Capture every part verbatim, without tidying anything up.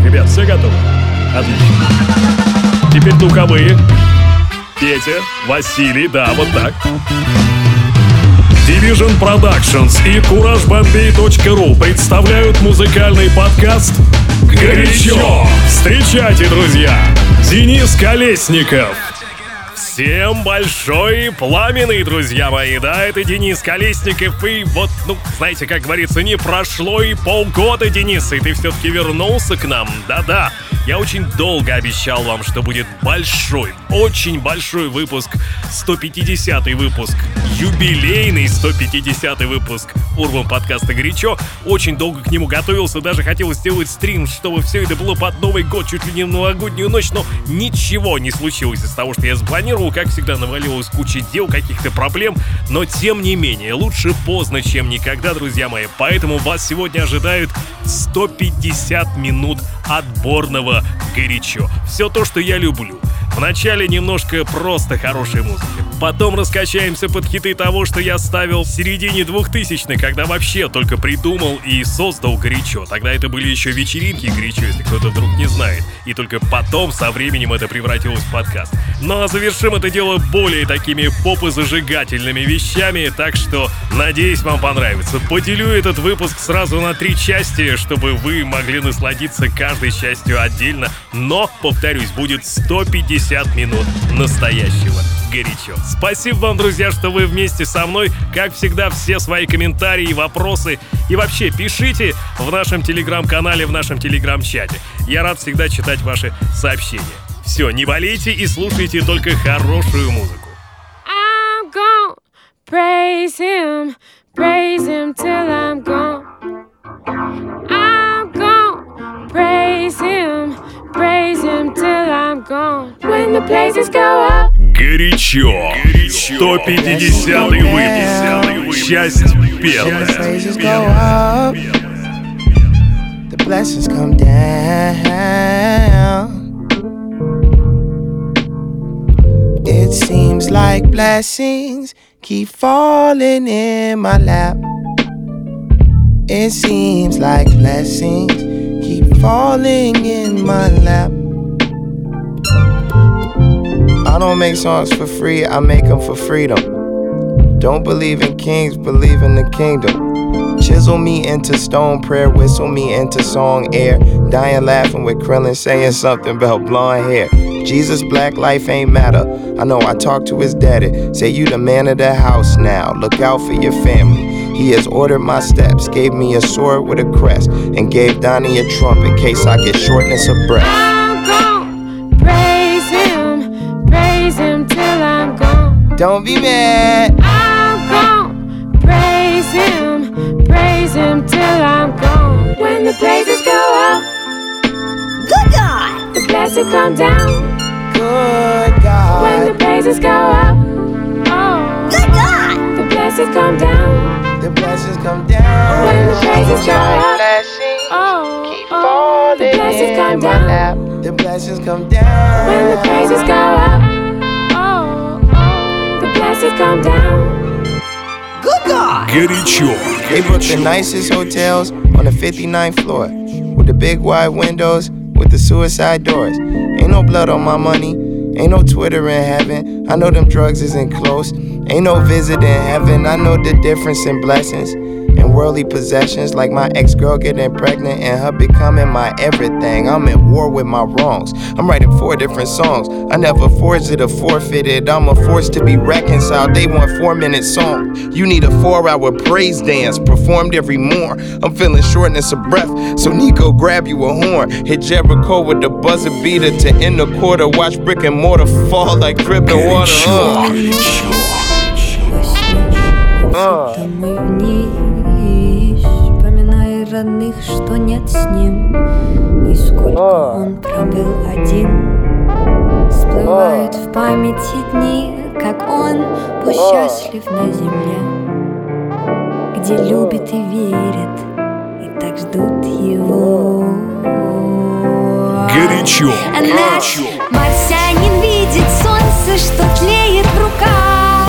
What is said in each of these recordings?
Ребят, все готовы? Отлично. Теперь духовые. Петя, Василий, да, вот так. Division Productions и кураж бомбей точка ру представляют музыкальный подкаст «Горячо». Встречайте, друзья, Денис Колесников. Всем большой и пламенный, друзья мои, да, это Денис Колесников, и вот, ну, знаете, как говорится, не прошло и полгода, Денис, и ты все-таки вернулся к нам, да-да. Я очень долго обещал вам, что будет большой, очень большой выпуск, сто пятидесятый выпуск, юбилейный сто пятидесятый выпуск Урбан подкаста «Горячо». Очень долго к нему готовился, даже хотел сделать стрим, чтобы все это было под Новый год, чуть ли не в новогоднюю ночь, но ничего не случилось из того, что я спланировал. Как всегда, навалилась куча дел, каких-то проблем, но тем не менее, лучше поздно, чем никогда, друзья мои. Поэтому вас сегодня ожидают сто пятьдесят минут отборного «Горячо». Все то, что я люблю. Вначале немножко просто хорошей музыки. Потом раскачаемся под хиты того, что я ставил в середине двухтысячных, когда вообще только придумал и создал «Горячо». Тогда это были еще вечеринки «Горячо», если кто-то вдруг не знает. И только потом, со временем, это превратилось в подкаст. Ну а завершим это дело более такими попозажигательными вещами, так что, надеюсь, вам понравится. Поделю этот выпуск сразу на три части, чтобы вы могли насладиться каждой частью отдельно. Но, повторюсь, будет сто пятьдесят минут настоящего «Горячо». Спасибо вам, друзья, что вы вместе со мной. Как всегда, все свои комментарии, вопросы и вообще пишите в нашем телеграм-канале, в нашем телеграм-чате. Я рад всегда читать ваши сообщения. Все, не болейте и слушайте только хорошую музыку. I'm gonna praise him, praise him till I'm gone. I'm gonna praise him, praise him till I'm gone. When the praises go up. Горячо. сто пятидесятый выпуск. Часть первая. The blessings come down. It seems like blessings keep falling in my lap. It seems like blessings keep falling in my lap. I don't make songs for free, I make them for freedom. Don't believe in kings, believe in the kingdom. Chisel me into stone, prayer whistle me into song air. Dying laughing with Krillin saying something about blonde hair. Jesus, black life ain't matter. I know I talked to his daddy. Say you the man of the house now. Look out for your family. He has ordered my steps. Gave me a sword with a crest. And gave Donnie a trumpet in case I get shortness of breath. I'm gonna praise him, praise him till I'm gone. Don't be mad. I'm gonna praise him, praise him till I'm gone. When the praises go up, good God, the blessings come down. Good When God. the praises go up, oh, good God, the blessings come down. The blessings come down. When the praises go up, Blessings oh, keep oh, falling the blessings come in my down. lap. The blessings come down. When the praises go up, oh, oh, the blessings come down. Good God. Горячо. They booked the nicest hotels on the fifty-ninth floor with the big wide windows with the suicide doors. Ain't no blood on my money, ain't no Twitter in heaven. I know them drugs isn't close, ain't no visit in heaven. I know the difference in blessings and worldly possessions, like my ex-girl getting pregnant and her becoming my everything. I'm at war with my wrongs. I'm writing four different songs. I never forged it or forfeited. I'm a force to be reconciled. They want four-minute song. You need a four-hour praise dance performed every morn. I'm feeling shortness of breath, so Nico grab you a horn. Hit Jericho with the buzzer beater to end the quarter. Watch brick and mortar fall like dripping water. Uh. Uh. Домой вниз, вспоминая родных, что нет с ним, и сколько он пробыл один. Всплывают в памяти дни, как он был счастлив на земле, где любит и верит, и так ждут его. Горячо. А наш марсианин видит солнце, что тлеет в руках.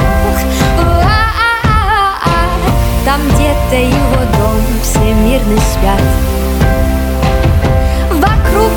Там где-то его дом, все мирно спят. Вокруг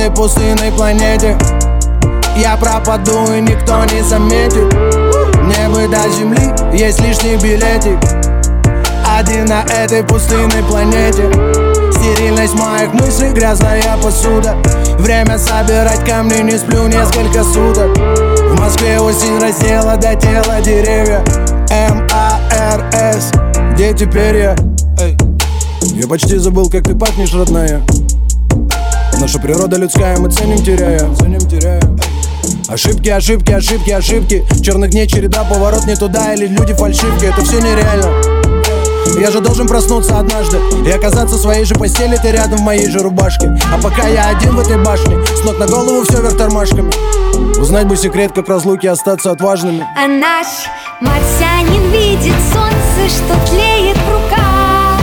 этой пустынной планете я пропаду и никто не заметит. Мне бы до земли есть лишний билетик. Один на этой пустынной планете. Стерильность моих мыслей, грязная посуда. Время собирать камни, не сплю несколько суток. В Москве осень раздела до тела деревья. эм а эр эс, где теперь я? Эй. Я почти забыл, как ты пахнешь, родная. Наша природа людская, мы ценим, теряя, ценим, теряя. Ошибки, ошибки, ошибки, ошибки. Черных дней череда, поворот не туда, или люди фальшивки. Это все нереально. Я же должен проснуться однажды и оказаться в своей же постели, ты рядом в моей же рубашке. А пока я один в этой башне, с ног на голову все вверх тормашками. Узнать бы секрет, как разлуки остаться отважными. А наш марсианин видит солнце, что тлеет в руках.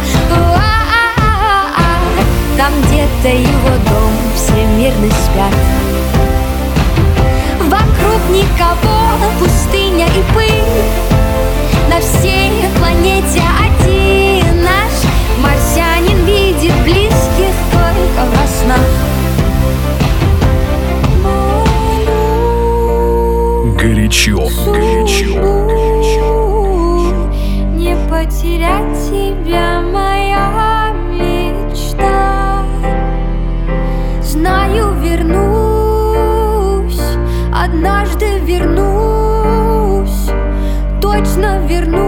У-а-а-а-а. Там где-то его дом, все мирно спят. Вокруг никого, пустыня и пыль. На всей планете один наш марсианин видит близких только во снах. Горячо, горячо, горячо. Не потерять тебя, моя мечта. Знаю, вернусь, однажды вернусь. Точно вернусь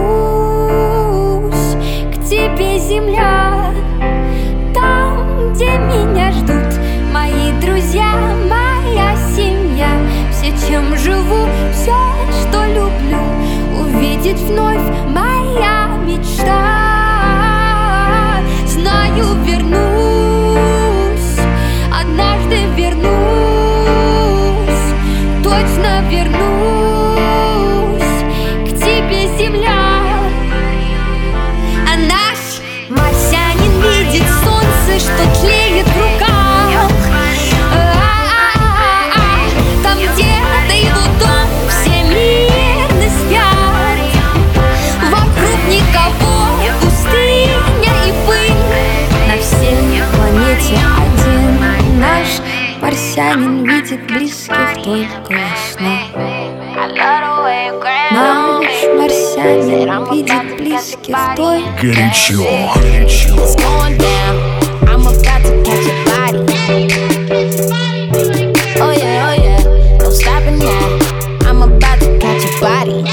к тебе, земля. Там, где меня ждут мои друзья, моя семья. Все, чем живу, все, что люблю, увидеть вновь моя мечта. Знаю, вернусь, однажды вернусь. Точно вернусь земля. А наш марсианин видит солнце, что тлеет в руках. А-а-а-а. Там где-то его дом, все мирно спят. Вокруг никого, пустыня и пыль. На всей планете один наш марсианин видит близких только во снах. Наш марсианин видит близких только. Горячо, горячо. I'm about to catch a body. Oh yeah, oh yeah, no stopping now. I'm about to catch a body.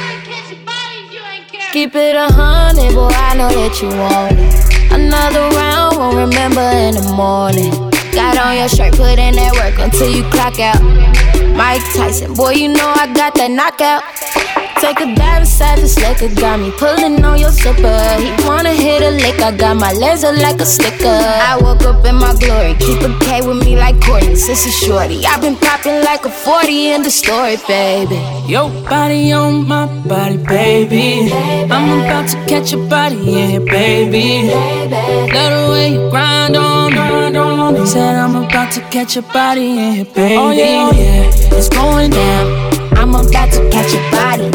Keep it a hundred, boy, I know that you want it. Another round, won't remember in the morning. Got on your shirt, put in that work until you clock out. Mike Tyson, boy, you know I got that knockout. Take a dive inside this liquor, got me pulling on your zipper. He wanna hit a lick, I got my laser like a sticker. I woke up in my glory, keep a K with me like Courtney, sister shorty. I've been popping like a forty in the story, baby. Your body on my body, baby. I'm about to catch a body in here, baby. Love the way you grind on me. Said I'm about to catch a body in here, baby. Oh yeah, oh yeah, it's going down. I'm about to catch a body.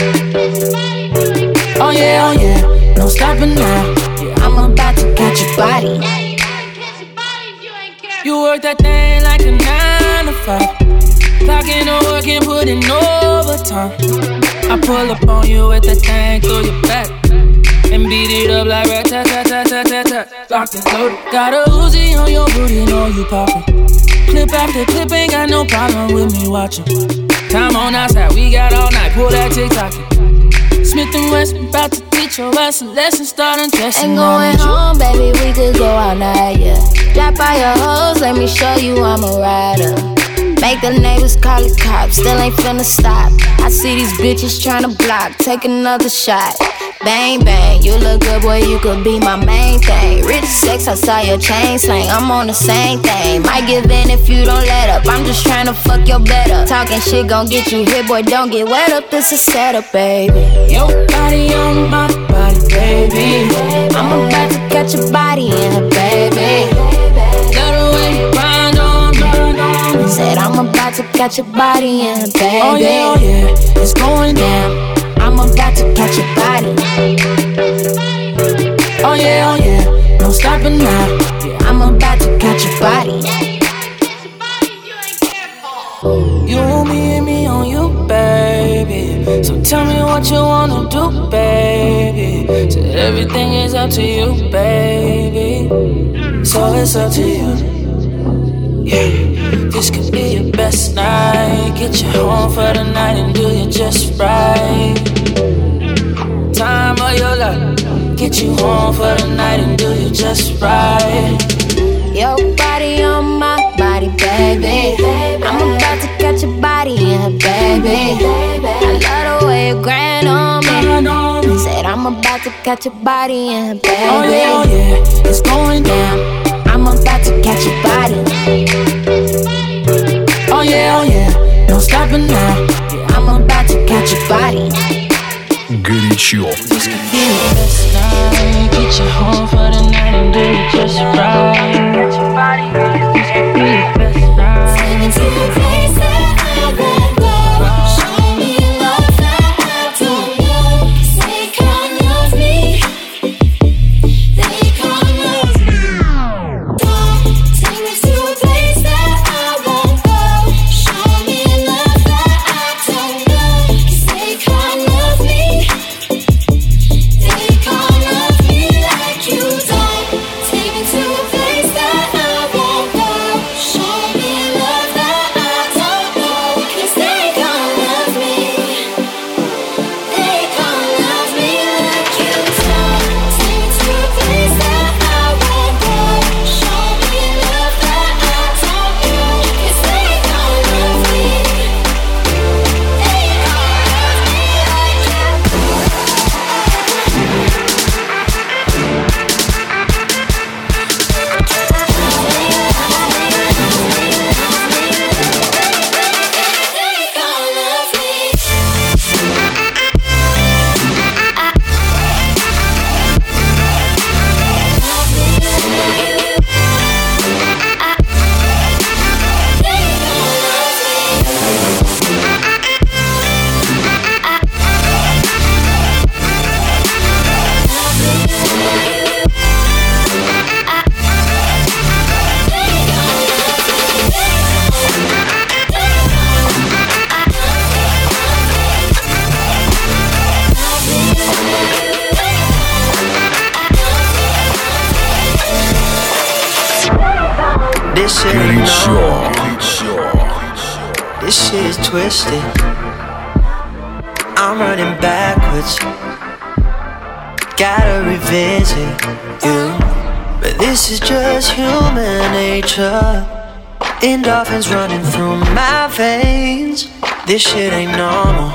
Oh yeah, oh yeah, no stopping now. I'm about to catch a body. You work that thing like a nine to five. Clocking to work and putting overtime. I pull up on you with that thing through your back and beat it up like rat-tat-tat-tat-tat-tat. Locked and loaded. Got a Uzi on your booty, know you poppin'. Clip after clip, ain't got no problem with me watching. Time on outside, we got all night, pull that TikTok. Smith and West, about to teach your ass a lesson, start undressing. Ain't going home, baby, we could go all night, yeah. Drop by your hoes, let me show you I'm a rider. Make the neighbors call the cops, still ain't finna stop. I see these bitches tryna block, take another shot. Bang, bang, you look good, boy, you could be my main thing. Rich sex, I saw your chain slang, I'm on the same thing. Might give in if you don't let up, I'm just tryna fuck your bed up. Talking shit gon' get you hit, boy, don't get wet up, this a setup, baby. Your body on my body, baby. I'm about to catch a body in her, baby. Love the way you grind on me. Said I'm about to catch a body in her, baby. Oh yeah, oh yeah, it's going down. I'm about to catch a body. Oh yeah, oh yeah, no stopping now. I'm about to catch a body. up to you, baby. So it's up to you. Yeah, this could be your best night. Get you home for the night and do you just right. Time of your life. Get you home for the night and do you just right. Your body on my body, baby. I'm about to catch your body in her, baby. I love the way you grind on me. Said I'm about to catch your body in her, baby. Oh yeah, oh yeah, it's going down. I'm about to catch your body. Oh yeah, oh yeah, no stopping now. I'm about to catch your body. Горячо. This could be your best night. Get you home for the night and do it just right. Catch your body. This could be your best night. Take me to a place that I won't go. Show me love that I don't know. 'Cause they can't love me. They can't love me. Take me to a place that I won't go. Show me love that I don't know. 'Cause they can't love me. They can't love me like you don't. Take me to a place that I won't go. Show me love that I don't know. 'Cause they can't love me. They can't love me like you don't. Take me to a place that I won't go. Show me love that I don't know. 'Cause they can't love me. They can't love me like you. They can't love me. This shit ain't normal. Горячо. This shit is twisted. I'm running backwards. Gotta revisit you. But this is just human nature. Endorphins running through my veins. This shit ain't normal.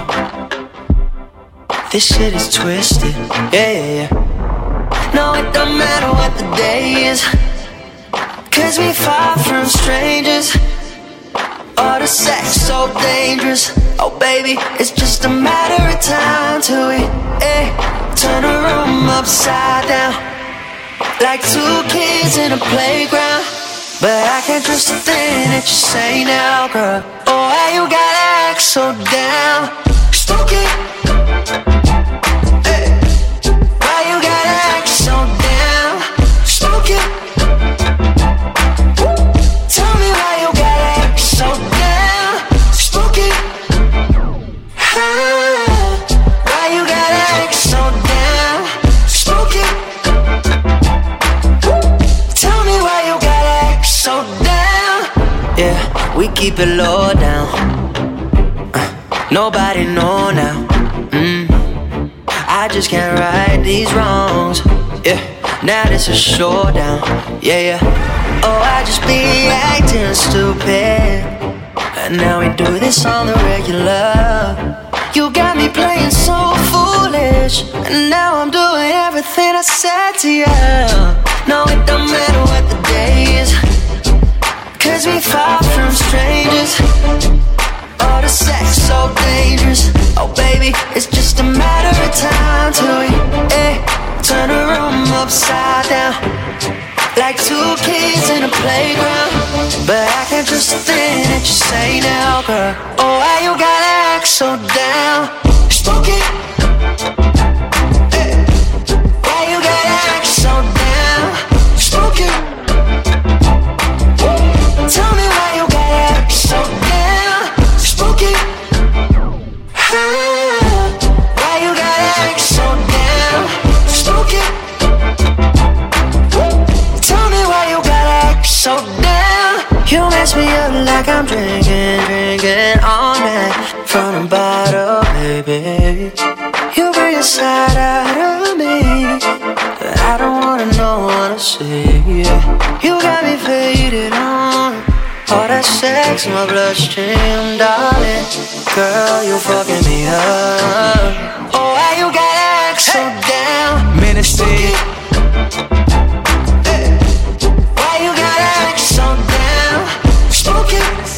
This shit is twisted. Yeah, yeah, yeah. No, it don't matter what the day is. 'Cause we far from strangers. All the sex so dangerous. Oh baby, it's just a matter of time till we eh, turn the room upside down. Like two kids in a playground. But I can't trust a thing that you say now, girl. Oh, why you gotta act so down? Stupid. Hey. Why you gotta act so down? Stupid. Tell me why you gotta act so down. Spooky. Why you gotta act so down. Spooky. Tell me why you gotta act so down. Yeah, we keep it low down. uh, Nobody know now. mm. I just can't right these wrongs. Yeah, now this is showdown. Yeah, yeah. Oh, I just be acting stupid. And now we do this on the regular. You got me playing so foolish. And now I'm doing everything I said to you. No, it don't matter what the day is. 'Cause we far from strangers. All the sex so dangerous. Oh baby, it's just a matter of time till we eh, turn the room upside down. Like two kids in a playground. But I can't trust a thing that you say now, girl. Oh, why you gotta act so down? Spooky. Hey. Why you gotta act so down? Spooky. Tell me why you gotta act so down. Spooky. Why you gotta act so down? Spooky. so down. You mess me up like I'm drinking, drinking all night from the bottle, baby. You bring a side out of me that I don't wanna know, wanna see. You got me faded on all that sex in my bloodstream, darling. Girl, you fucking me up. Oh, why you gotta act so down? Menacing. Why you gotta act so down? Spooky.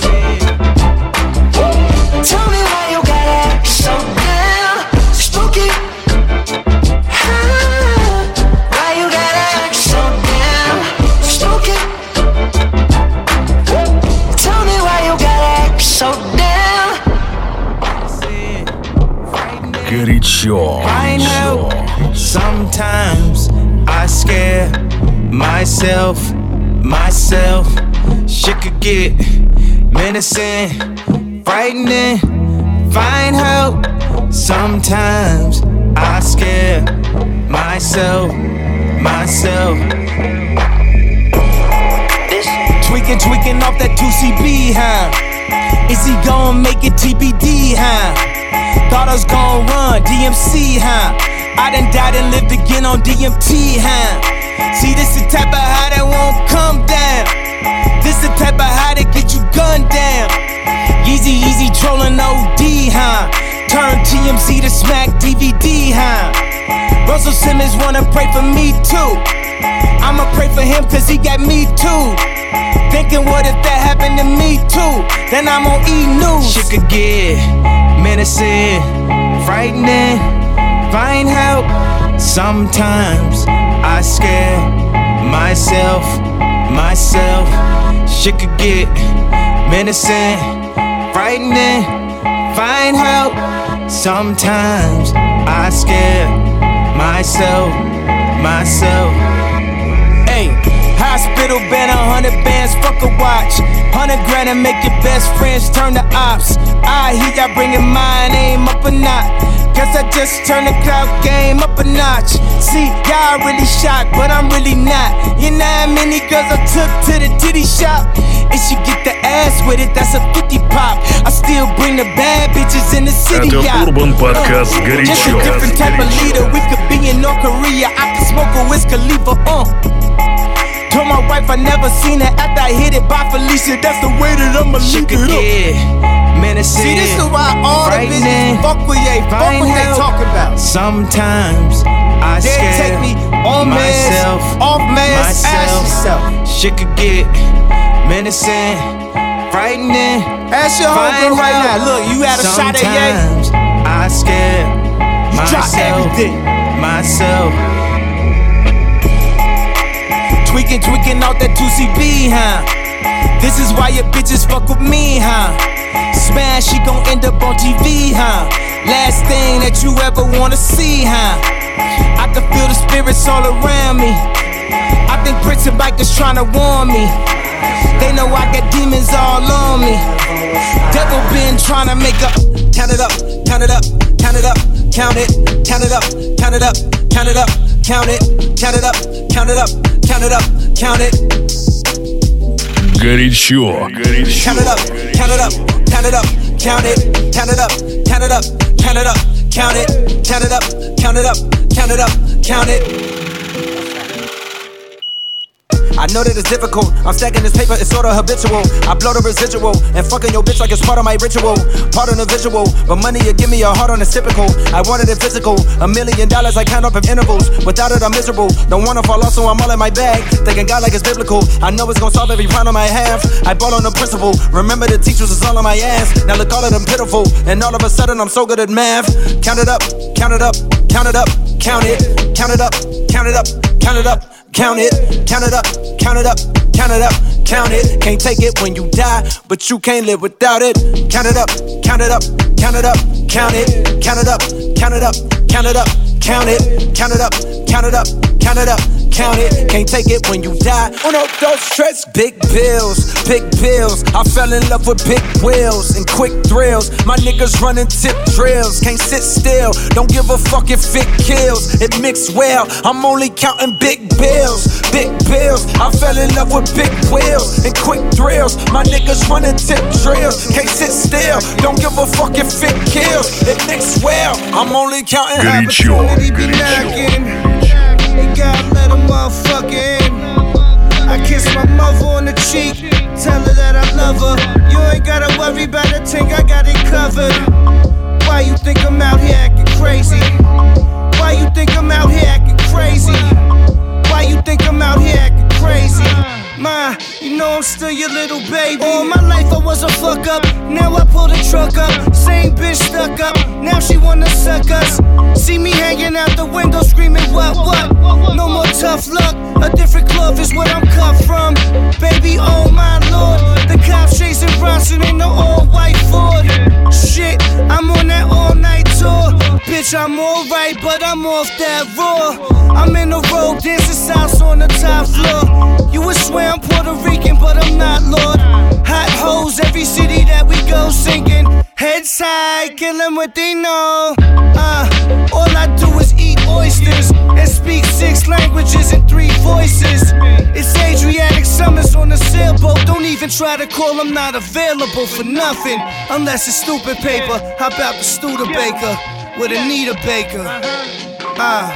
Tell me why you gotta act so down. Spooky. Why you gotta act so down? Spooky. Tell me why you gotta act so down. Горячо. I know sometimes I scare myself, myself. Shit could get menacing, frightening. Find help. Sometimes I scare myself, myself. Tweaking, tweaking off that two C B, huh? Is he gon' make it T B D, huh? Thought I was gon' run D M C, huh? I done died and lived again on D M T, huh? See, this the type of high that won't come down. This the type of high that get you gunned down. Easy, easy trolling O D, huh? Turn T M Z to smack D V D, huh? Russell Simmons wanna pray for me too. I'ma pray for him cause he got me too. Thinking what if that happened to me too? Then I'm on E! News. Shit could get menacing, frightening. Find help. Sometimes I scare myself, myself. Shit could get menacing, frightening. Find help. Sometimes I scare myself, myself. Hey, hospital been a hundred bands, fuck a watch. Hundred grand and make your best friends turn to ops. I hear y'all bringing my name up a notch. Guess I just turned the clout game up a notch. See, y'all really shocked, but I'm really not. You know how many girls I took to the titty shop? And she get the ass with it, that's a fifty pop. I still bring the bad bitches in the city, Это Urban Podcast uh, горячо. Just a different type of leader, we could be in North Korea. I could smoke a Wiz Khalifa, uh told my wife I never seen her after I hit it by Felicia. That's the way that I'ma leave it up. Menacing, see, this is why all the bitches fuck with ye, fuck what they talk about. Sometimes I they scare take me on myself, mass, off mass, myself. Ask yourself. Shit could get menacing, frightening. Ask your homegirl right now. Look, you had a shot at ye. Sometimes I scare you myself, myself. Tweaking, tweaking out that two C B, huh? This is why your bitches fuck with me, huh? Smash, she gon' end up on T V, huh? Last thing that you ever wanna see, huh? I can feel the spirits all around me. I think Prince and bikers tryna warn me. They know I got demons all on me. Devil been tryna make up. Count it up, count it up, count it up, count it, count it up, count it up, count it up, count it, count it up, count it up. Count it up, count it. Горячо. Count it up, count it up, count it up, count it, count it up, count it up, count it up, count it, count it up, count it up, count it up, count it. I know that it's difficult. I'm stacking this paper, it's sorta habitual. I blow the residual and fucking your bitch like it's part of my ritual. Part of the visual, but money you give me a heart on it's typical. I wanted it physical, a million dollars I count up in intervals. Without it I'm miserable, don't wanna fall off so I'm all in my bag. Thinking God like it's biblical, I know it's gonna solve every problem I have. I bought on the principle, remember the teachers is all on my ass. Now look all of them pitiful, and all of a sudden I'm so good at math. Count it up, count it up, count it up, count it, count it up, count it up, count it up. Count it, count it up, count it up, count it up, count it. Can't take it when you die, but you can't live without it. Count it up, count it up, count it up, count it, count it up, count it up, count it up, count it, count it up, count it up, count it up, count it, can't take it when you die. On those trips, big bills, big bills. I fell in love with big wheels and quick thrills. My niggas running tip drills, can't sit still. Don't give a fuck if it kills, it mixed well. I'm only counting big bills, big bills. I fell in love with big wheels and quick thrills. My niggas running tip drills, can't sit still. Don't give a fuck if it kills, it mixed well. I'm only counting Горячо, opportunity be горячо. knocking. You gotta let a motherfucker in. I kiss my mother on the cheek, tell her that I love her. You ain't gotta worry about a thing, I got it covered. Why you think I'm out here acting crazy? Why you think I'm out here acting crazy? Why you think I'm out here acting crazy? Ma, you know I'm still your little baby. All my life I was a fuck up, now I pull the truck up. Same bitch stuck up, now she wanna suck us. See me hanging out the window screaming what, what? No more tough luck, a different club is what I'm cut from. Baby, oh my lord, the cops chasing Bronson in the all-white Ford. Shit, I'm on that all-night tour. Bitch, I'm alright, but I'm off that raw. I'm in the road, dancing salsa on the top floor. You would swear I'm Puerto Rican, but I'm not, Lord. Hot hoes, every city that we go singing. Heads high, kill them what they know. Uh, all I do is eat oysters and speak six languages and three voices. It's Adriatic Summers on a sailboat. Don't even try to call, I'm not available for nothing. Unless it's stupid paper. How about the Studebaker with Anita Baker? Uh,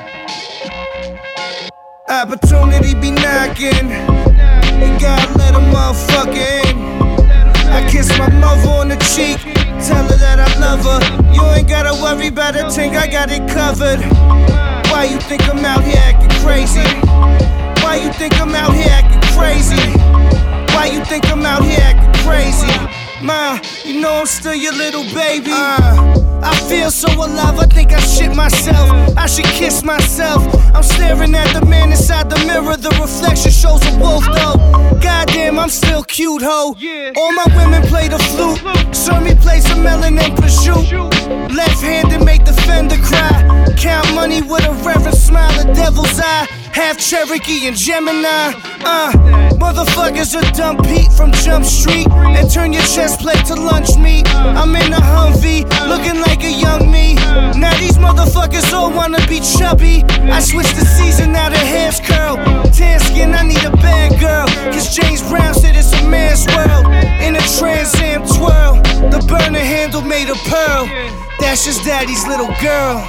opportunity be knocking. You gotta let a motherfucker in. I kiss my mother on the cheek, tell her that I love her. You ain't gotta worry about a thing, I got it covered. Why you think I'm out here acting crazy? Why you think I'm out here acting crazy? Why you think I'm out here acting crazy? Ma, you know I'm still your little baby. uh, I feel so alive, I think I shit myself. I should kiss myself. I'm staring at the man inside the mirror. The reflection shows a wolf though. Goddamn, I'm still cute, ho. All my women play the flute. Serve me play some melon and prosciutto. Left-handed make the fender cry. Count money with a reverent smile, a devil's eye. Half Cherokee and Gemini. Uh, motherfuckers are dump Pete from Jump Street and turn your chest plate to lunch meat. I'm in a Humvee, looking like a young me. Now these motherfuckers all wanna be chubby. I switched the season, now the hair's curl. Tan skin, I need a bad girl. Cause James Brown said it's a man's world. In a Trans Am twirl, the burner handle made of pearl. That's just daddy's little girl.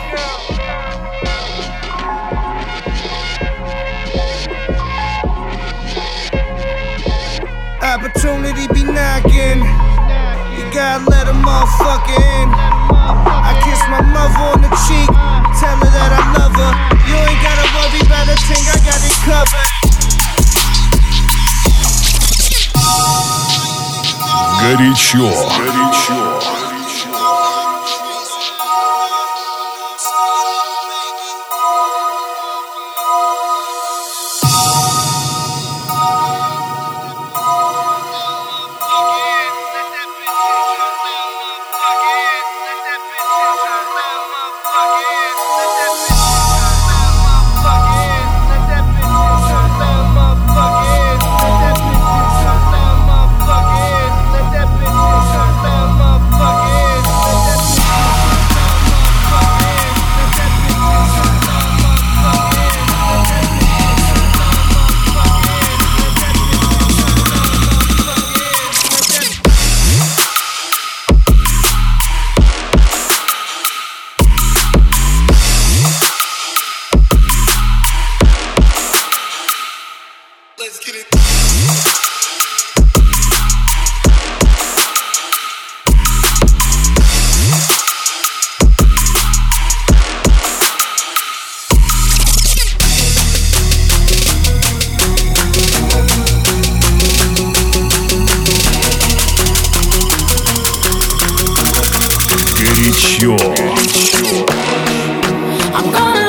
Opportunity be knocking. You gotta let a motherfucker in. I kiss my mother on the cheek, tell her that I love her. You ain't gotta worry about a thing, I got it covered. Горячо, горячо.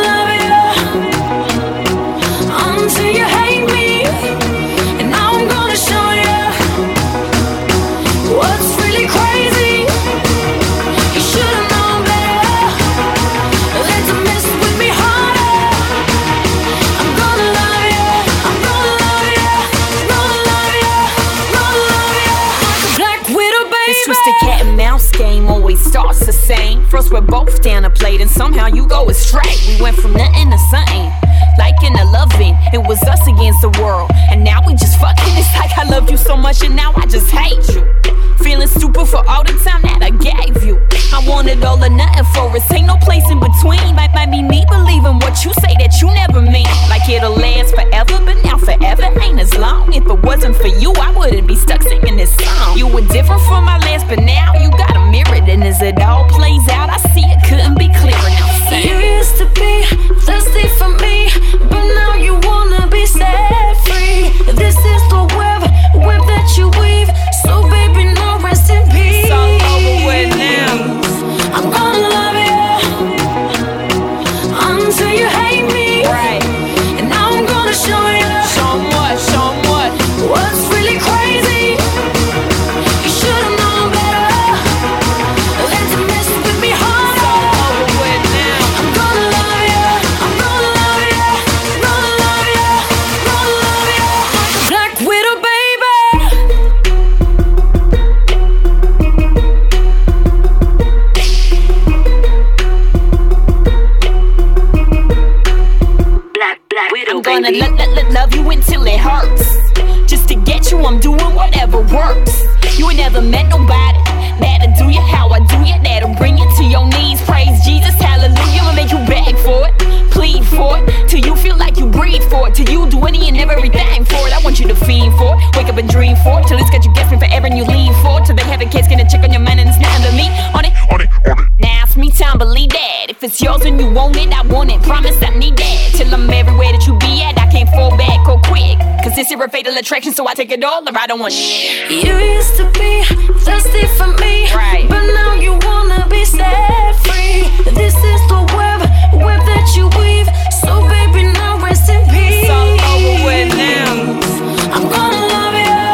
Until you hate me, and now I'm gonna hearts the same. First we're both down a plate and somehow you go astray. We went from nothing to something, like in a loving. It was us against the world, and now we just fucking. It's like I loved you so much and now I just hate you. Feeling stupid for all the time that I gave you. I wanted all or nothing for us, ain't no place in between. Might, might be me believing what you say that you never mean. Like it'll last forever, but now forever ain't as long. If it wasn't for you, I wouldn't be stuck singing this song. You were different from my last, but now you got a mirror. And as it all plays out, I see it couldn't be clearer now. Say. You used to be thirsty for me, but now you wanna be set free. This is the web, web that you weave. So baby, no rest in peace. It's all over with now. I'm gonna love you until you hate me. Right. And now I'm gonna show you. Show 'em what, show 'em what. What's really crazy? You should've known better than to mess with me harder. It's all over with now. I'm gonna love you. I'm gonna love you. Gonna love you. Gonna love you. Black Widow, baby. Black, black widow, I'm gonna let, let, let love you until it hurts. Just to get you, I'm doing whatever works. You ain't never met nobody that'll do you how I do you, that'll bring you to your knees. Praise Jesus, hallelujah. I'ma make you beg for it, plead for it, till you feel like you breathe for it, till you do any and everything for it. I want you to fiend for it, wake up and dream for it, till it's got you guessing forever and you lean for it, till they have a case, get a check on your mind and it's nothing to me. On it, on it, on it. Now it's me time, believe that. If it's yours and you want it, I want it. Promise I need that. Till I'm everywhere that you be at, I can't fall back or quick. Cause this here a fatal attraction, so I take it all or I don't want shit. You used to be thirsty for me, right? But now you wanna be set free. This is the web, web that you weave. So baby, now rest in peace. It's all over with now. I'm gonna love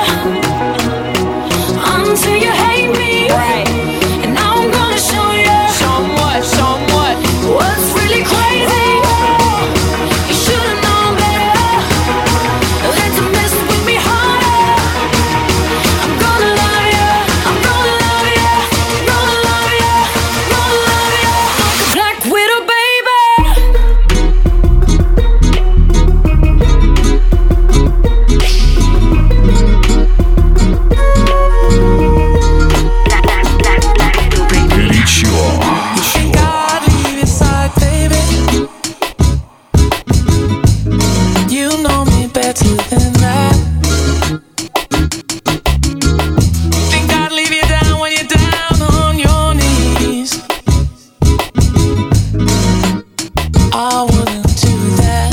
you until you hate me, right? And now I'm gonna show you. Show 'em what, show 'em what. What's really crazy? You should've known better than to mess with me harder. I'm gonna love you. I'm gonna love you. Gonna love you. Gonna love you. Black Widow, baby. Горячо. You know me better than that. Think I'd leave you down when you're down on your knees. I wouldn't do that.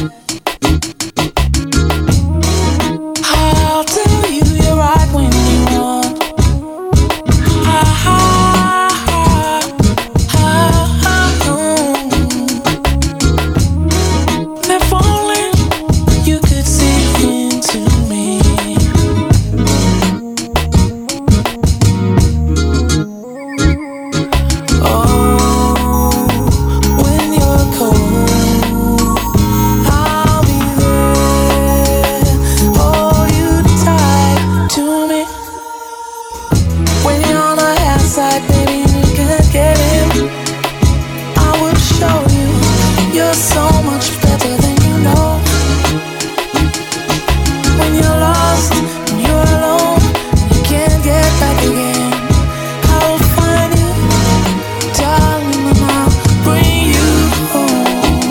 I'll tell you you're right when you want. Ah, ah, ah, ah, ah, if only you could see into me. Oh, when you're cold, I'll be there. Hold you tight to me. When you're on the outside, baby, you can't get in. I will show you you're so much better than you know. When you're lost and you're alone, you can't get back again. I will find you, darling, and I'll bring you home.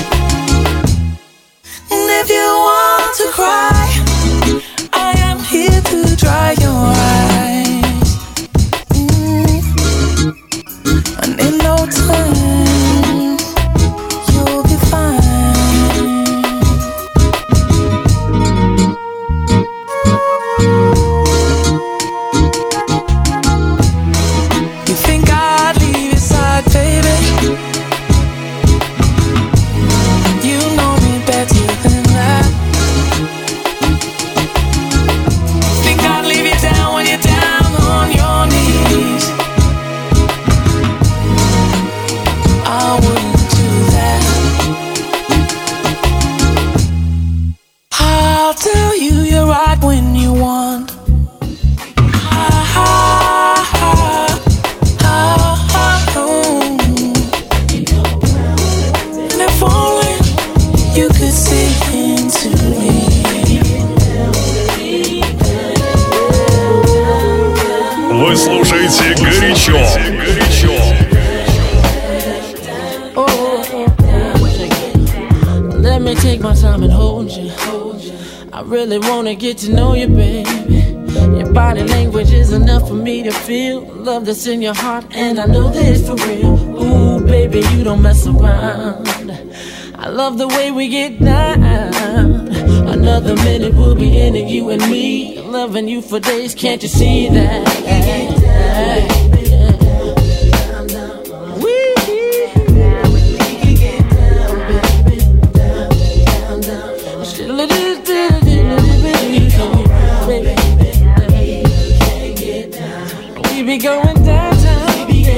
And if you want to cry, I am here to dry your eyes. Mm. And in no time, you'll be fine. You think I'd leave your side, baby? You know me better than that. Think I'd leave you down when you're down on your knees. I wouldn't do that. I'll tell you you're right when you want. Ah, ah, ah, ah, really wanna get to know you, baby. Your body language is enough for me to feel love that's in your heart, and I know that it's for real. Ooh, baby, you don't mess around. I love the way we get down. Another minute we'll be in it, you and me, loving you for days. Can't you see that? We be going downtown.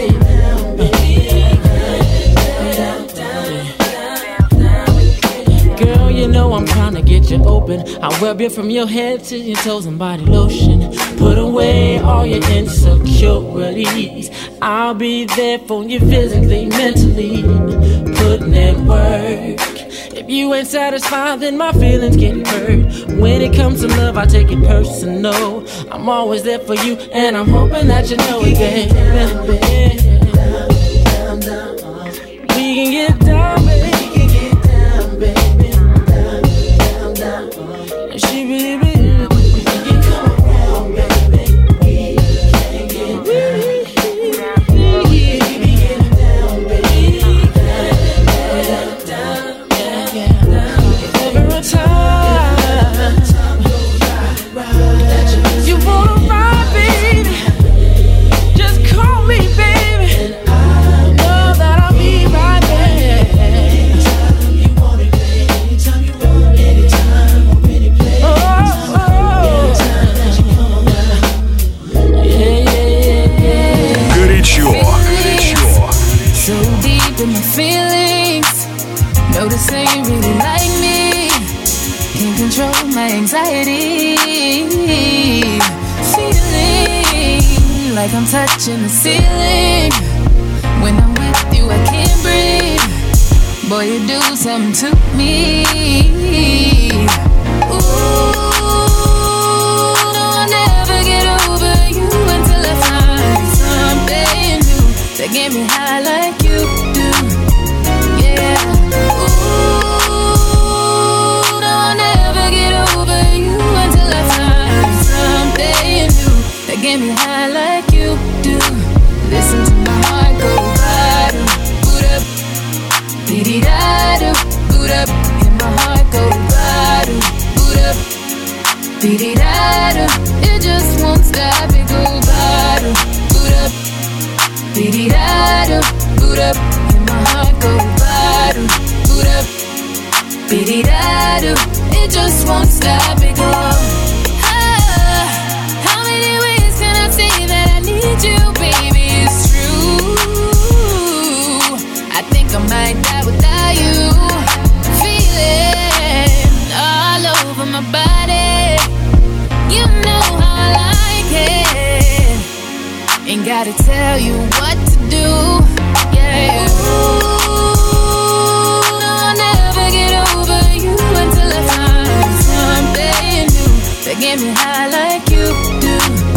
Girl, you know I'm trying to get you open. I rub you from your head to your toes and body lotion. Put away all your insecurities. I'll be there for you physically, mentally, putting in work. If you ain't satisfied, then my feelings get hurt. When it comes to love, I take it personal. I'm always there for you, and I'm hoping that you know it, baby. We can get down, baby. She really, really, we can come around, baby. Like I'm touching the ceiling. When I'm with you, I can't breathe. Boy, you do something to me. Ooh, no, I'll never get over you until I find something new that get me high like you do. Yeah. Ooh, no, I'll never get over you until I find something new that get me high like you do. Listen to my heart go bada, boot up, dee da do, boot up, and my heart go bada, boot up, dee da do. It just won't stop, it go bada, boot up, dee da do, boot up, and my heart go bada, boot up, dee da do. It just won't stop, it go. You, baby, it's true. I think I might die without you. Feeling all over my body. You know how I like it. Ain't gotta tell you what to do. Yeah. Ooh, no, I'll never get over you until I find something new that get me high like you do.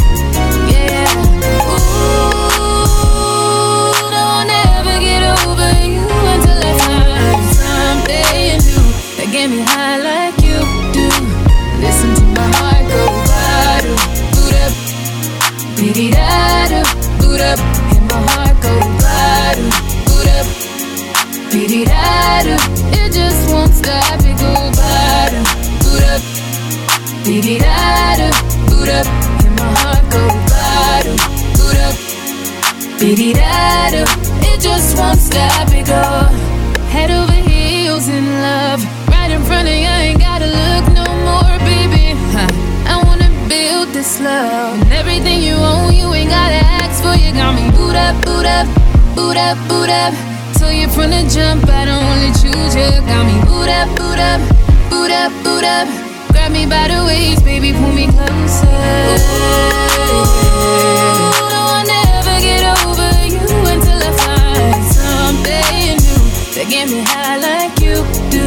Get me high like you do. Listen to my heart go bada, boot up, dee da do, boot up, and my heart go bada, boot up, dee da do. It just won't stop, it go bada, boot up, dee da do, boot up, and my heart go bada, boot up, dee da do. It just won't stop, it go. Head over heels in love. In front of you, I ain't gotta look no more, baby. Huh. I wanna build this love. And everything you own, you ain't gotta ask for. You got me boot up, boot up, boot up, boot up. Told you from the jump, I don't wanna choose you. Got me boot up, boot up, boot up, boot up. Grab me by the waist, baby, pull me closer. Ooh, no, I'll never get over you until I find something new that get me high like you do.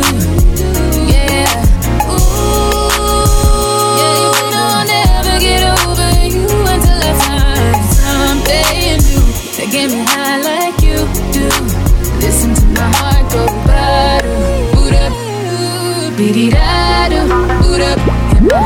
Get me high like you do. Listen to my heart go bada, boot up, dee da do, boot up, and my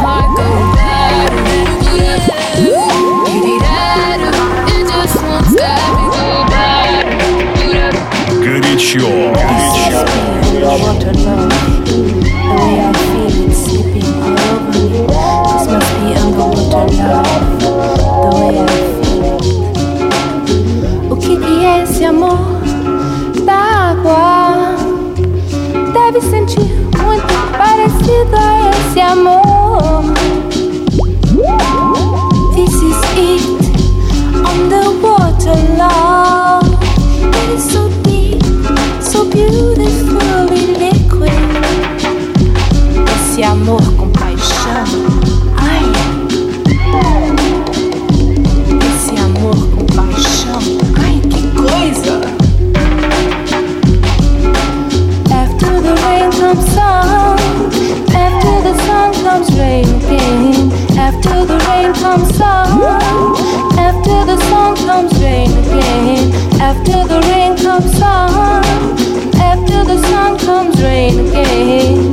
After the rain comes sun, after the sun comes rain again. After the rain comes sun, after the sun comes rain again.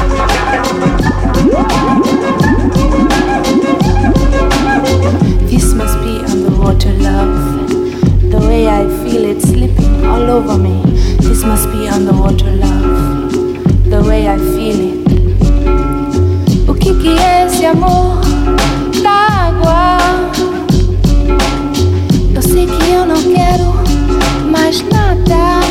This must be underwater love. The way I feel it slipping all over me. This must be underwater love. The way I feel it. O que que é esse amor da água? Eu sei que eu não quero mais nada.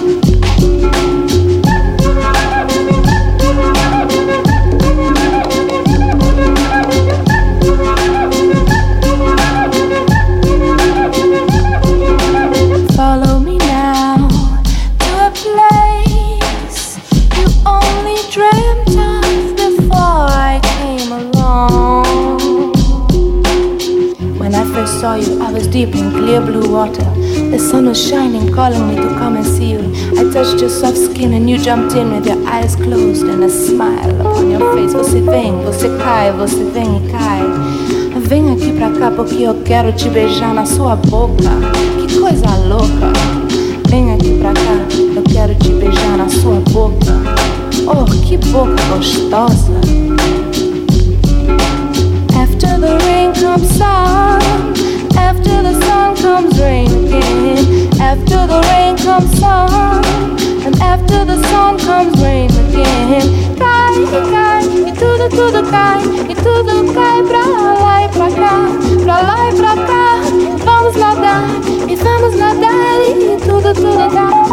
Follow me now to a place you only dreamt of before I came along. When I first saw you, I was deep in clear blue water. The sun was shining, calling me to come and see you. I touched your soft skin and you jumped in with your eyes closed and a smile upon your face. Você vem, você cai, você vem e cai. Vem aqui pra cá porque eu quero te beijar na sua boca. Que coisa louca. Vem aqui pra cá, eu quero te beijar na sua boca. Oh, que boca gostosa. After the rain comes sun, after the sun comes rain again. After the rain comes sun, and after the sun comes rain again. Cai, e cai, e tudo, tudo cai, e tudo cai pra lá e pra cá, pra lá e pra cá. Vamos nadar, e vamos nadar, e tudo, tudo cai.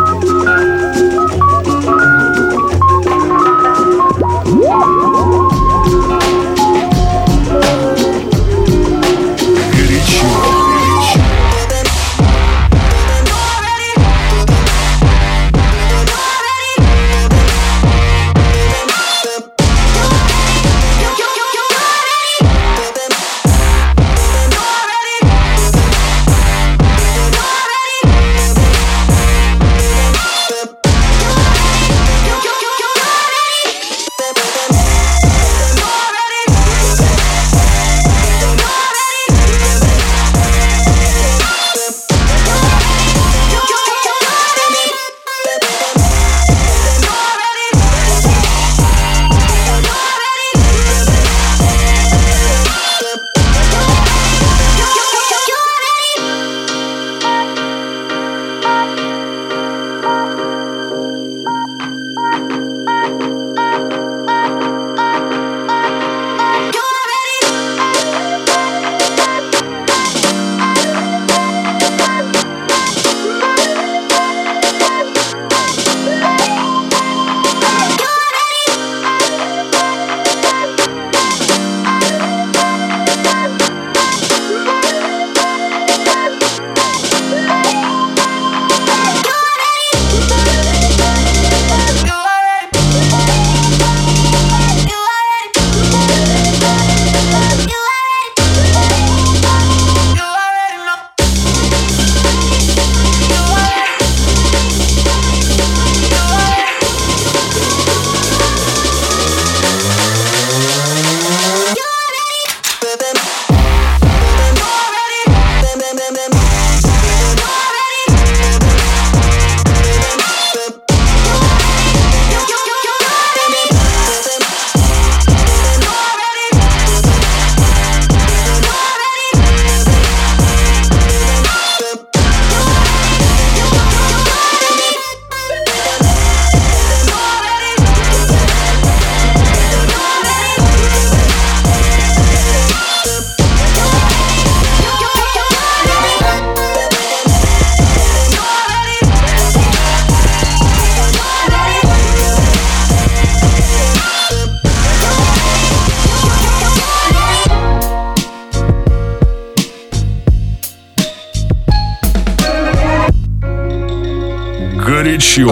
Горячо.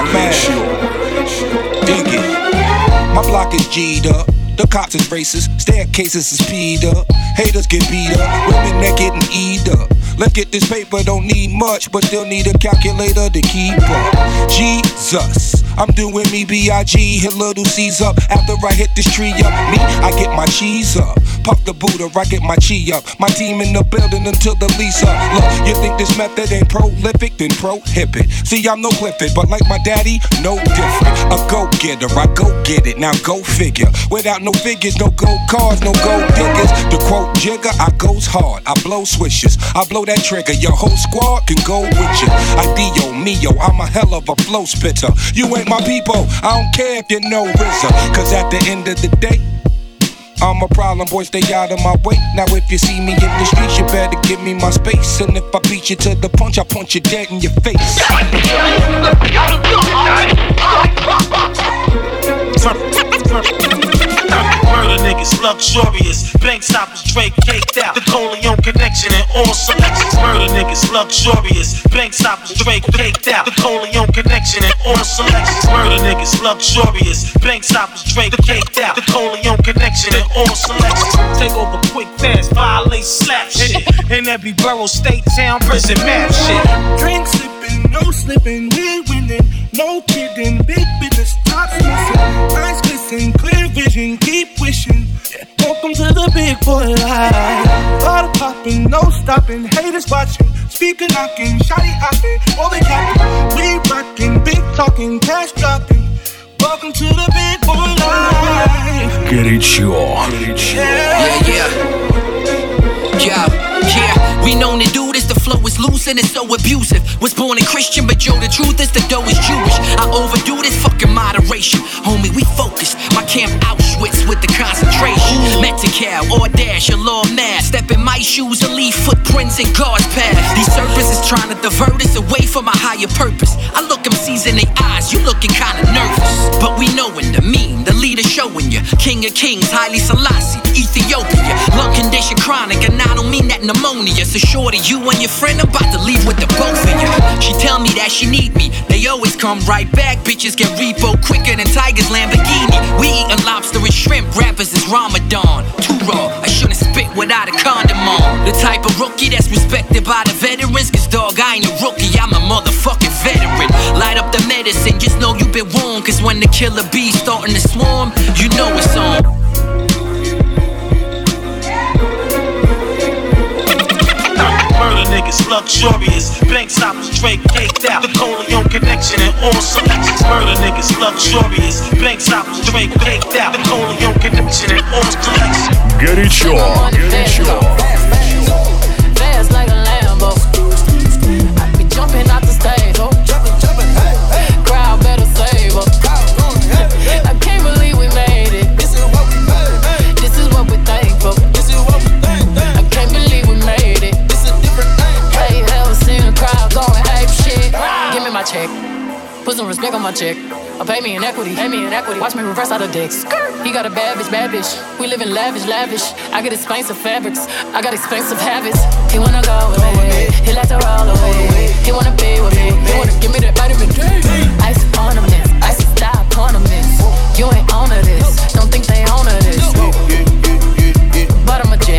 Dig it. My block is G'd up. The cops is racist. Staircases is speed up. Haters get beat up. Women that getting eat up. Let's get this paper, don't need much, but still need a calculator to keep up. Jesus, I'm doing me B I G, hit little C's up. After I hit this tree up, me, I get my cheese up. Puff the Buddha, I get my chi up. My team in the building until the lease up. Look, you think this method ain't prolific? Then prohibit. See, I'm no Clifford, but like my daddy, no different. A go-getter, I go get it, now go figure. Without no figures, no gold cars, no gold diggers. To quote Jigger, I goes hard, I blow swishers. I blow that trigger, your whole squad can go with you. I Dio, Mio, I'm a hell of a flow spitter. You ain't my people, I don't care if you know R Z A. Cause at the end of the day, I'm a problem, boy, stay out of my way. Now if you see me in the streets, you better give me my space. And if I beat you to the punch, I punch you dead in your face. Murder niggas, luxurious. Bank stoppers, Drake caked out. The Coleon connection and all selections. Murder niggas, luxurious. Bank stoppers, Drake caked out. The Coleon connection and all selections. Murder niggas, luxurious. Bank stoppers, Drake caked out. The Coleon connection and all selections. Take over quick, fast, violate, slap shit. In every borough, state, town, prison, map shit. Drink sipping, no slipping, we're winning. No kidding, big business, top missing. Eyes glisten, clear vision, keep wishing. Yeah. Welcome to the big boy life. Bottle popping, no stopping, haters watching. Speaker knocking, shotty hopping, all they capping. We rocking, big talking, cash dropping. Welcome to the big boy life. Горячо. Yeah, yeah. Yeah, yeah. We known to do this, the flow is loose and it's so abusive. Was born a Christian, but yo, the truth is the dough is Jewish. I overdo this fucking moderation. Homie, we focus. My camp Auschwitz with the concentration. Metical, Audash, a law mass. Step in my shoes and leave footprints in God's path. These serpents is trying to divert us away from a higher purpose. I look them C's in their eyes, you looking kinda nervous. But we knowin' the mean, the leader showing you. King of kings, Haile Selassie, Ethiopia. Lung condition chronic, and I don't mean that pneumonia. So shorty, you and your friend about to leave with the both of you. She tell me that she need me, they always come right back. Bitches get repo quicker than Tiger's Lamborghini. We eatin' lobster and shrimp, rappers is Ramadan. Too raw, I shouldn't spit without a condom on. The type of rookie that's respected by the veterans. Cause dog, I ain't a rookie, I'm a motherfucking veteran. Light up the medicine, just know you been warned. Cause when the killer bees starting to swarm, you know it's on. Murder niggas, luxurious. Bank stoppers, Drake caked out. The Coleon connection and all selections. Murder niggas, luxurious. Bank stoppers, Drake caked out. The Coleon connection and all selections. Горячо. Горячо. Fast like a Lambo. I be jumping out the stage. Oh. Crowd better save us. I can't believe we made it. This is what we made. This is what we thankful. This is what we thankful. I can't believe we made it. This is a different thing. Hey, ever seen a crowd going ape shit? Give me my check. Put some respect on my check. Or pay me in equity. Pay me in equity. Watch me reverse out of dicks. He got a bad bitch, bad bitch. We live in lavish, lavish. I get expensive fabrics. I got expensive habits. He wanna go with me. He like to roll away. He wanna be with me. He wanna give me that vitamin D. Ice ornaments. Ice style ornaments. You ain't on to this. Don't think they own to this. But I'm a jet.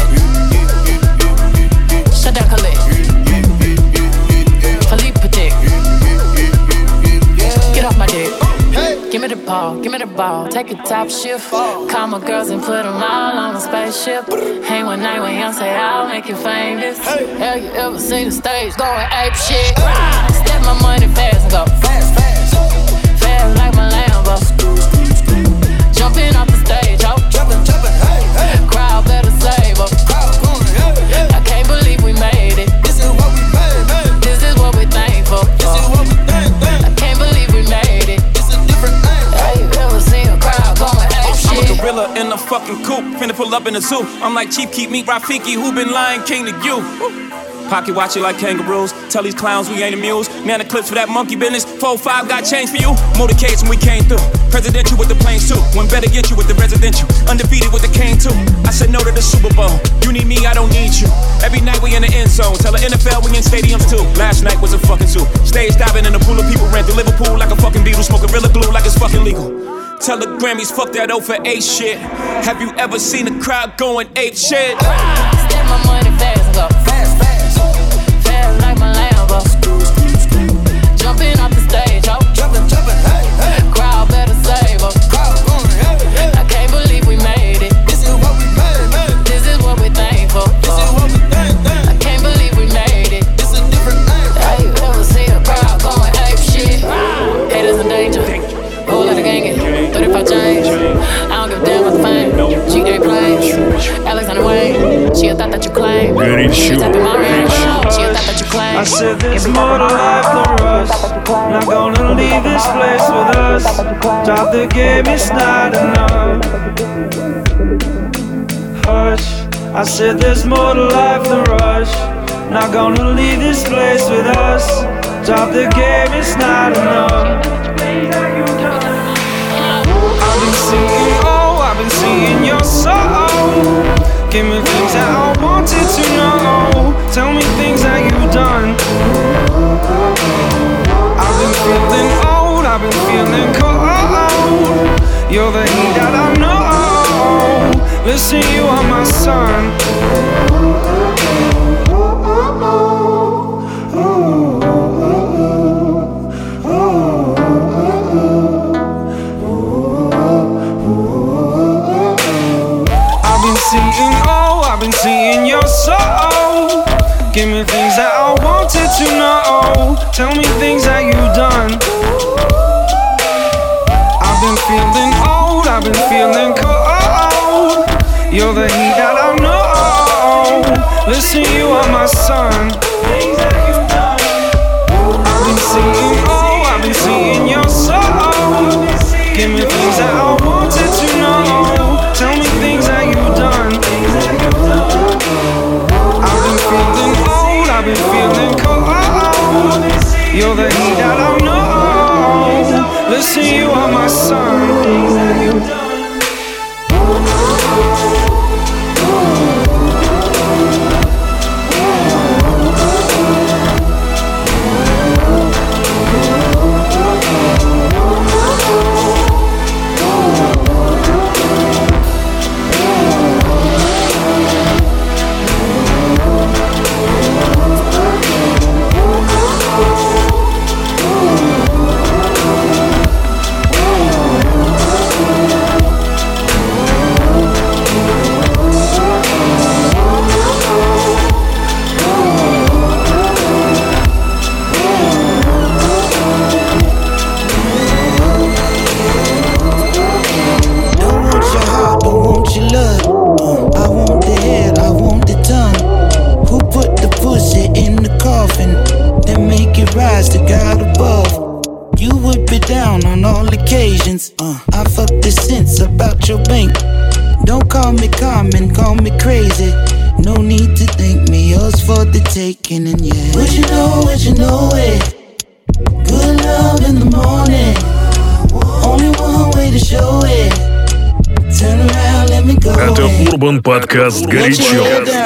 Shut down, Khalid. Philippe Petit. Get off my dick. Give me the ball, give me the ball. Take a top shift. Call my girls and put them all on a spaceship. Hang one night when young say I'll make you famous. Have you ever seen the stage going ape shit? Step my money fast and go fast, fast, fast like my Lambo. Jumping off the stage, oh, jumping, jumping, hey, hey. Crowd better save us. I can't believe we made it. This is what we made, made. This is what we thankful. This is what we thankful. I can't believe we made it. This is different thing. Have you ever seen a crowd going ape shit? I'm a gorilla in a fucking coop, finna pull up in the zoo. I'm like Chief Keef, meet Rafiki, who been Lion King to you. Pocket watch it like kangaroos. Tell these clowns we ain't amused. Man, the clips for that monkey business. four five got change for you. Motorcades when we came through. Presidential with the planes too. One better get you with the residential. Undefeated with the cane too. I said no to the Super Bowl. You need me, I don't need you. Every night we in the end zone. Tell the N F L we in stadiums too. Last night was a fucking zoo. Stage diving in a pool of people ran through Liverpool like a fucking beetle. Smoking Gorilla Glue like it's fucking legal. Tell the Grammys fuck that O for eight shit. Have you ever seen a crowd going ape shit? Step my money fast and go fast, fast. Fast like my Lambo. Jumping off the stage, oh, jumping, jumping, hey, hey. Crowd better save us. I can't believe we made it. This is what we made, made. This that you claim. Горячо. I said there's more to life than rust. Not gonna leave this place with us. Drop the game, it's not enough. Hush. I said there's more to life than rush. Not gonna leave this place with us. Drop the game, it's not enough. I've been singing, oh, I've been singing your soul. Give me things that I wanted to know. Tell me things that you've done. I've been feeling old, I've been feeling cold. You're the heat that I know. Listen, you are my son. I've been seeing, oh, I've been seeing your soul. Give me things that I wanted to know. Tell me things that you've done. I've been feeling old, I've been feeling cold. You're the heat that I know. Listen, you are my son. I've been seeing, oh, I've been seeing your soul. Give me things that I wanted to know. Tell me things that you've done. I've been feeling old, I've been feeling cold. You're the heat that I know. Listen, you are my son. Uh, I fucked the sense about your bank. Don't call me common, call me crazy. No need to thank me, yours for the taking. And yeah, would you know, would you know it? Good love in the morning. Only one way to show it. Turn around, let me go. Это Urban Podcast «Горячо».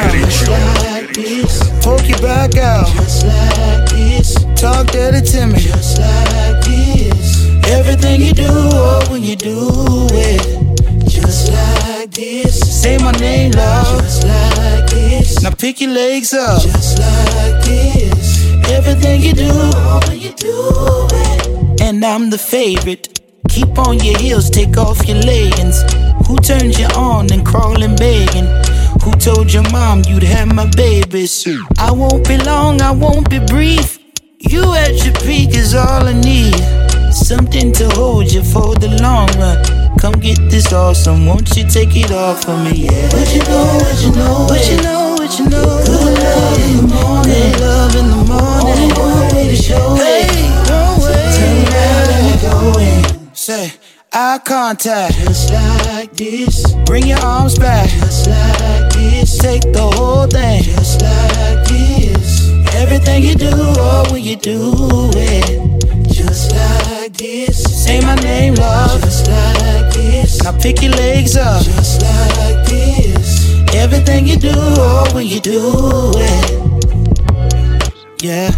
Poke your back out. Just like this. Talk dirty to me. Just like this. Everything you do, oh, when you do it, just like this. Say my name, love, just like this. Now pick your legs up, just like this. Everything you do, oh, when you do it. And I'm the favorite. Keep on your heels, take off your leggings. Who turned you on and crawling begging? Who told your mom you'd have my babies? I won't be long, I won't be brief. You at your peak is all I need. Something to hold you for the long run. Come get this awesome, won't you take it off for me? Yeah. What you know, what you know, what you know, what you know. Good love in the morning, good love in the morning. Only one way to show hey, it. One way. Turn around, let me go in. Say, eye contact, just like this. Bring your arms back, just like this. Take the whole thing, just like this. Everything you do, oh, when you do it, just like this. Say my name, love, just like this. Now pick your legs up, just like this. Everything you do, oh, when you do it, yeah.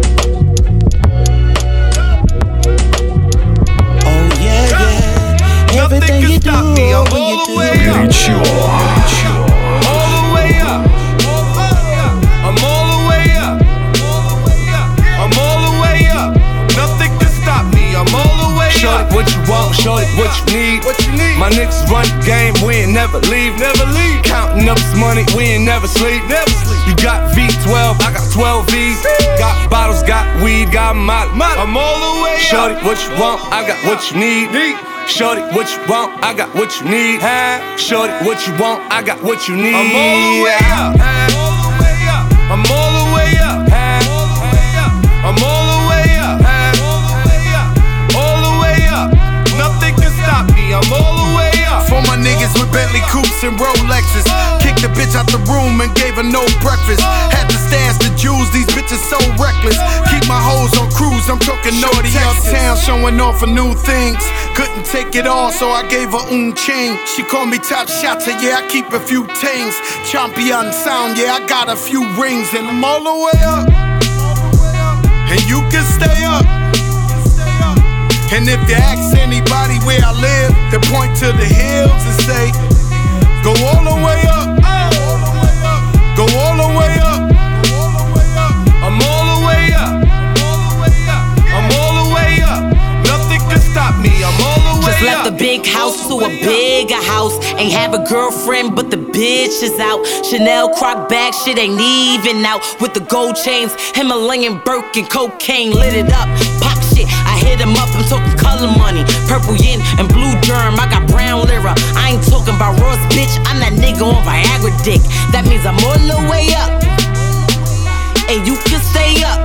Oh yeah, yeah. Everything you do, oh, when you do it. Горячо. All the way up. I'm all the way up. I'm all the way up. Nothing can stop me. I'm all the way up. Shorty, what you want? Shorty, what you need? What you need? My niggas run the game. We ain't never leave. Never leave. Counting up this money, we ain't never sleep. Never sleep. You got V twelve, I got twelve V's. Got bottles, got weed, got molly. I'm all the way up. Shorty, what you want? I got what you need. Shorty, what you want? I got what you need. Shorty, what you want? I got what you need. I'm all the way up. I'm all the way up. I'm all the way up. All the way up. Nothing can stop me. I'm all the way up. For my niggas with Bentley coupes and Rolexes, kicked the bitch out the room and gave her no breakfast. Had to stash the jewels, these bitches so reckless. Keep my hoes on cruise, I'm talking naughty uptown, showing off for new things. Couldn't take it all, so I gave her un chain. She called me top shotter, yeah, I keep a few things. Champion sound, yeah, I got a few rings. And I'm all the way up, and you can stay up. And if you ask anybody where I live, they point to the hills and say, go all the way up, go all the way up. I'm all the way up. I'm all the way up. Nothing can stop me. I'm all the way up. Just left the big house to a bigger house. Ain't have a girlfriend, but the bitch is out. Chanel croc bag, shit ain't even out. With the gold chains, Himalayan Birkin, cocaine lit it up. Pop shit, I hit him up. I'm talking color money, purple yin and blue germ. I got brown lira. I ain't talking about Ross, bitch. I'm that nigga on Viagra dick. That means I'm all the way up, and you can stay up.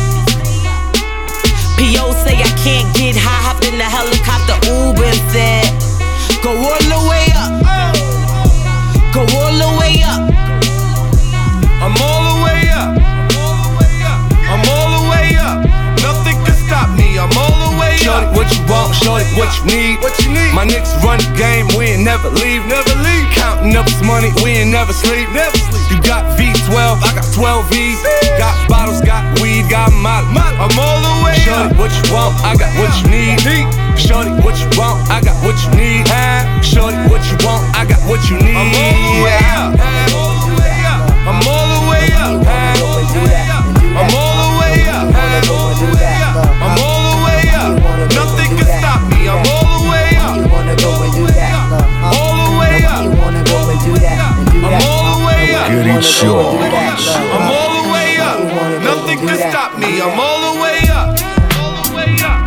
P O say I can't get high, hopped in the helicopter, Uber and said, go all the way up, go all the way up. I'm all the way up. I'm all the way up. Nothing can stop me. I'm all the way up. Shorty, what you want? Shorty, what you need? What you need? My niggas run the game, we ain't never leave, never leave. Counting up this money, we ain't never sleep, never sleep. You got V twelve, I got twelve V's. Got bottles, got weed, got molly. I'm all the way up. Shorty, what you want? I got what you need. Shorty, what you want? I got what you need. Shorty, what you want? I got what you need. I'm all the way up. I'm all the way up. I'm all the way up. I'm all the way up. Nothing can stop me. I'm all the way up. All the way up. I'm all the way up. I'm all the way up. Nothing can stop me. I'm all the way up. All the way up.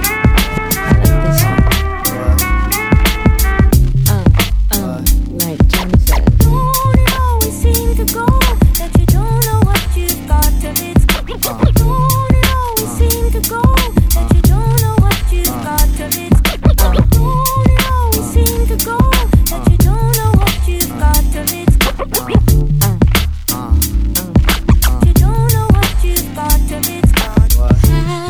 Have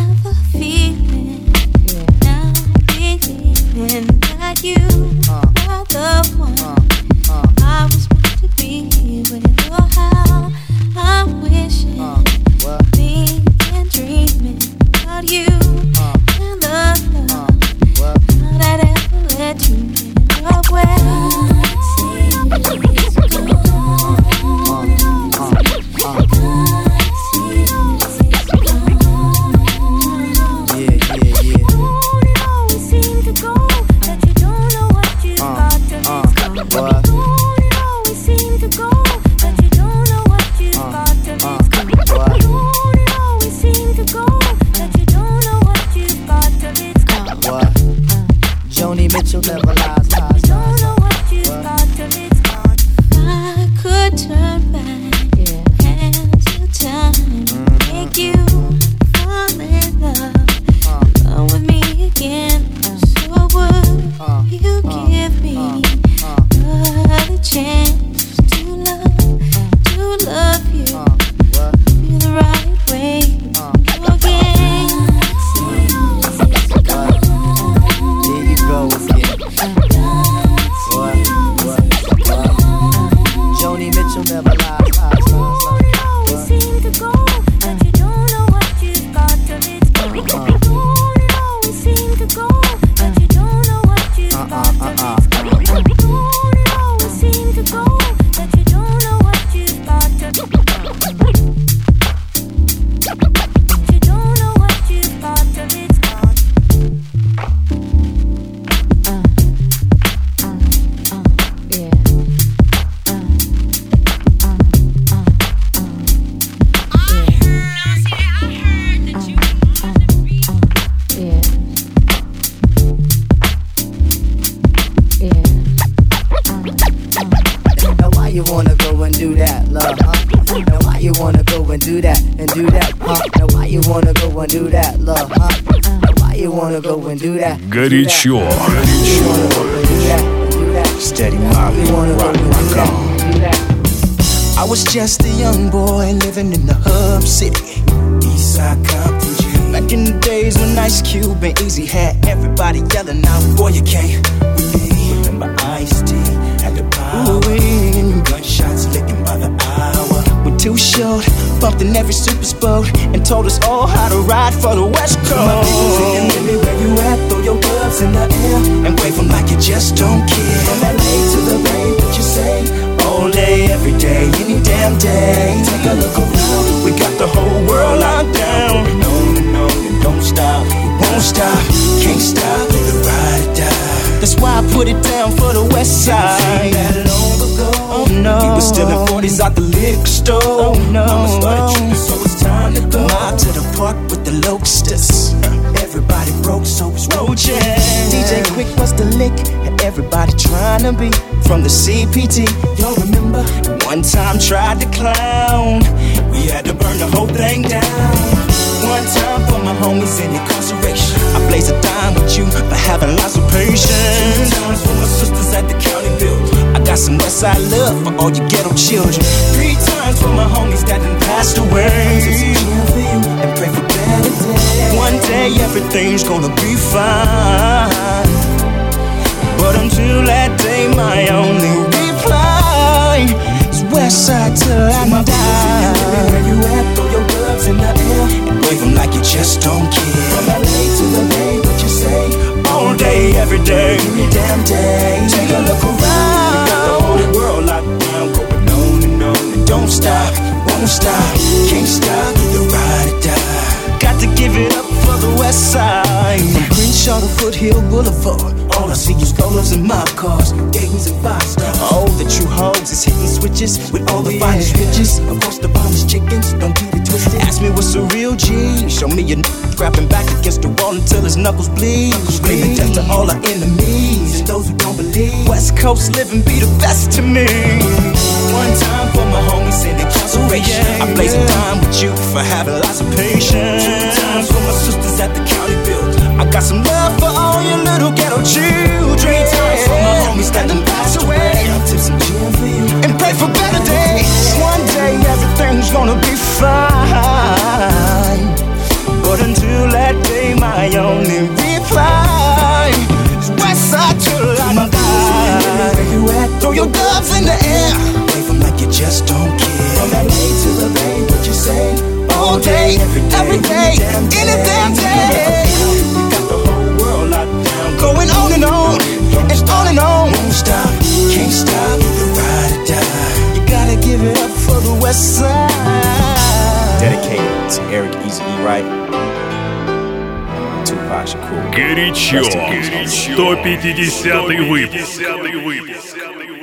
go and do that, love, huh? Now why you wanna go and do that and do that, huh? Now why you wanna go and do that, love, huh? Now why you wanna go and do that? Горячо. Steady Molly, rock, rock on. I was just a young boy living in the hub city, Eastside Compton G. Back in the days when Ice Cube and Easy had everybody yelling out, boy you can't with me. Remember Ice-T had the power, gunshots licking by the hour. We're too short, bumped in every super boat, and told us all how to ride for the West Coast. My people saying, baby, where you at? Throw your gloves in the air and wave them like you just don't care. From L A to the Bay, what you say? All day, every day, any damn day. Take a look around, we got the whole world locked down. No, no, no, don't stop, we won't stop, can't stop, let it ride or die. That's why I put it down for the West Side. That long ago, oh no, we was still in forties out the liquor store. Oh no, Mama started tripping, so it's time to go. Mob to the park with the Locusts. Everybody broke, so it's roaches. D J Quick was the lick, and everybody trying to be from the C P T. Y'all remember? One time tried to clown, we had to burn the whole thing down. One time for my homies in incarceration, I blaze a dime with you for having lots of patience. Two times for my sisters at the county build, I got some Westside love for all you ghetto children. Three times for my homies that done passed away, and pray for better days. One day everything's gonna be fine, but until that day my only reply is Westside till I die. Where you at? Throw your gloves in the air and wave them like you just don't care. From L A to the Bay, what you say? All day, every day, every damn day. Take a look around, we got the whole world locked down, going on and on and don't stop, won't stop, can't stop, either ride or die. Got to give it up for the West Side. From Crenshaw to Foothill Boulevard, all I see is rollers and mob cars, Dayton's and five stars. All the true hoes is hitting switches with all the yeah. finest riches. Of course the finest chickens, don't get it twisted. Ask me what's a real G, show me a n*** grabbing back against the wall until his knuckles bleed. Screaming death to all our enemies and those who don't believe. West Coast living be the best to me. One time for my homies in incarceration, I blaze a dime with you for having lots of patience. Two times for my sisters at the county build, I got some love for all your little ghetto children. Three times for my homies that done passed away, I'll tip some gin for you and pray for better days. One day everything's gonna be fine, but until that day my only reply is Westside till I die. Where you at? Throw your gloves in the air, wave them like you just don't care. From L A to the Bay, what you say? All day, every day, every day, any damn day. We got the whole world locked down, going on and on, and on and on. Won't stop, can't stop, either ride or die. You gotta give it up for the West Side. Dedicated to Eric Easy E. Wright, Tupac Shakur. Горячо. сто пятидесятый выпуск.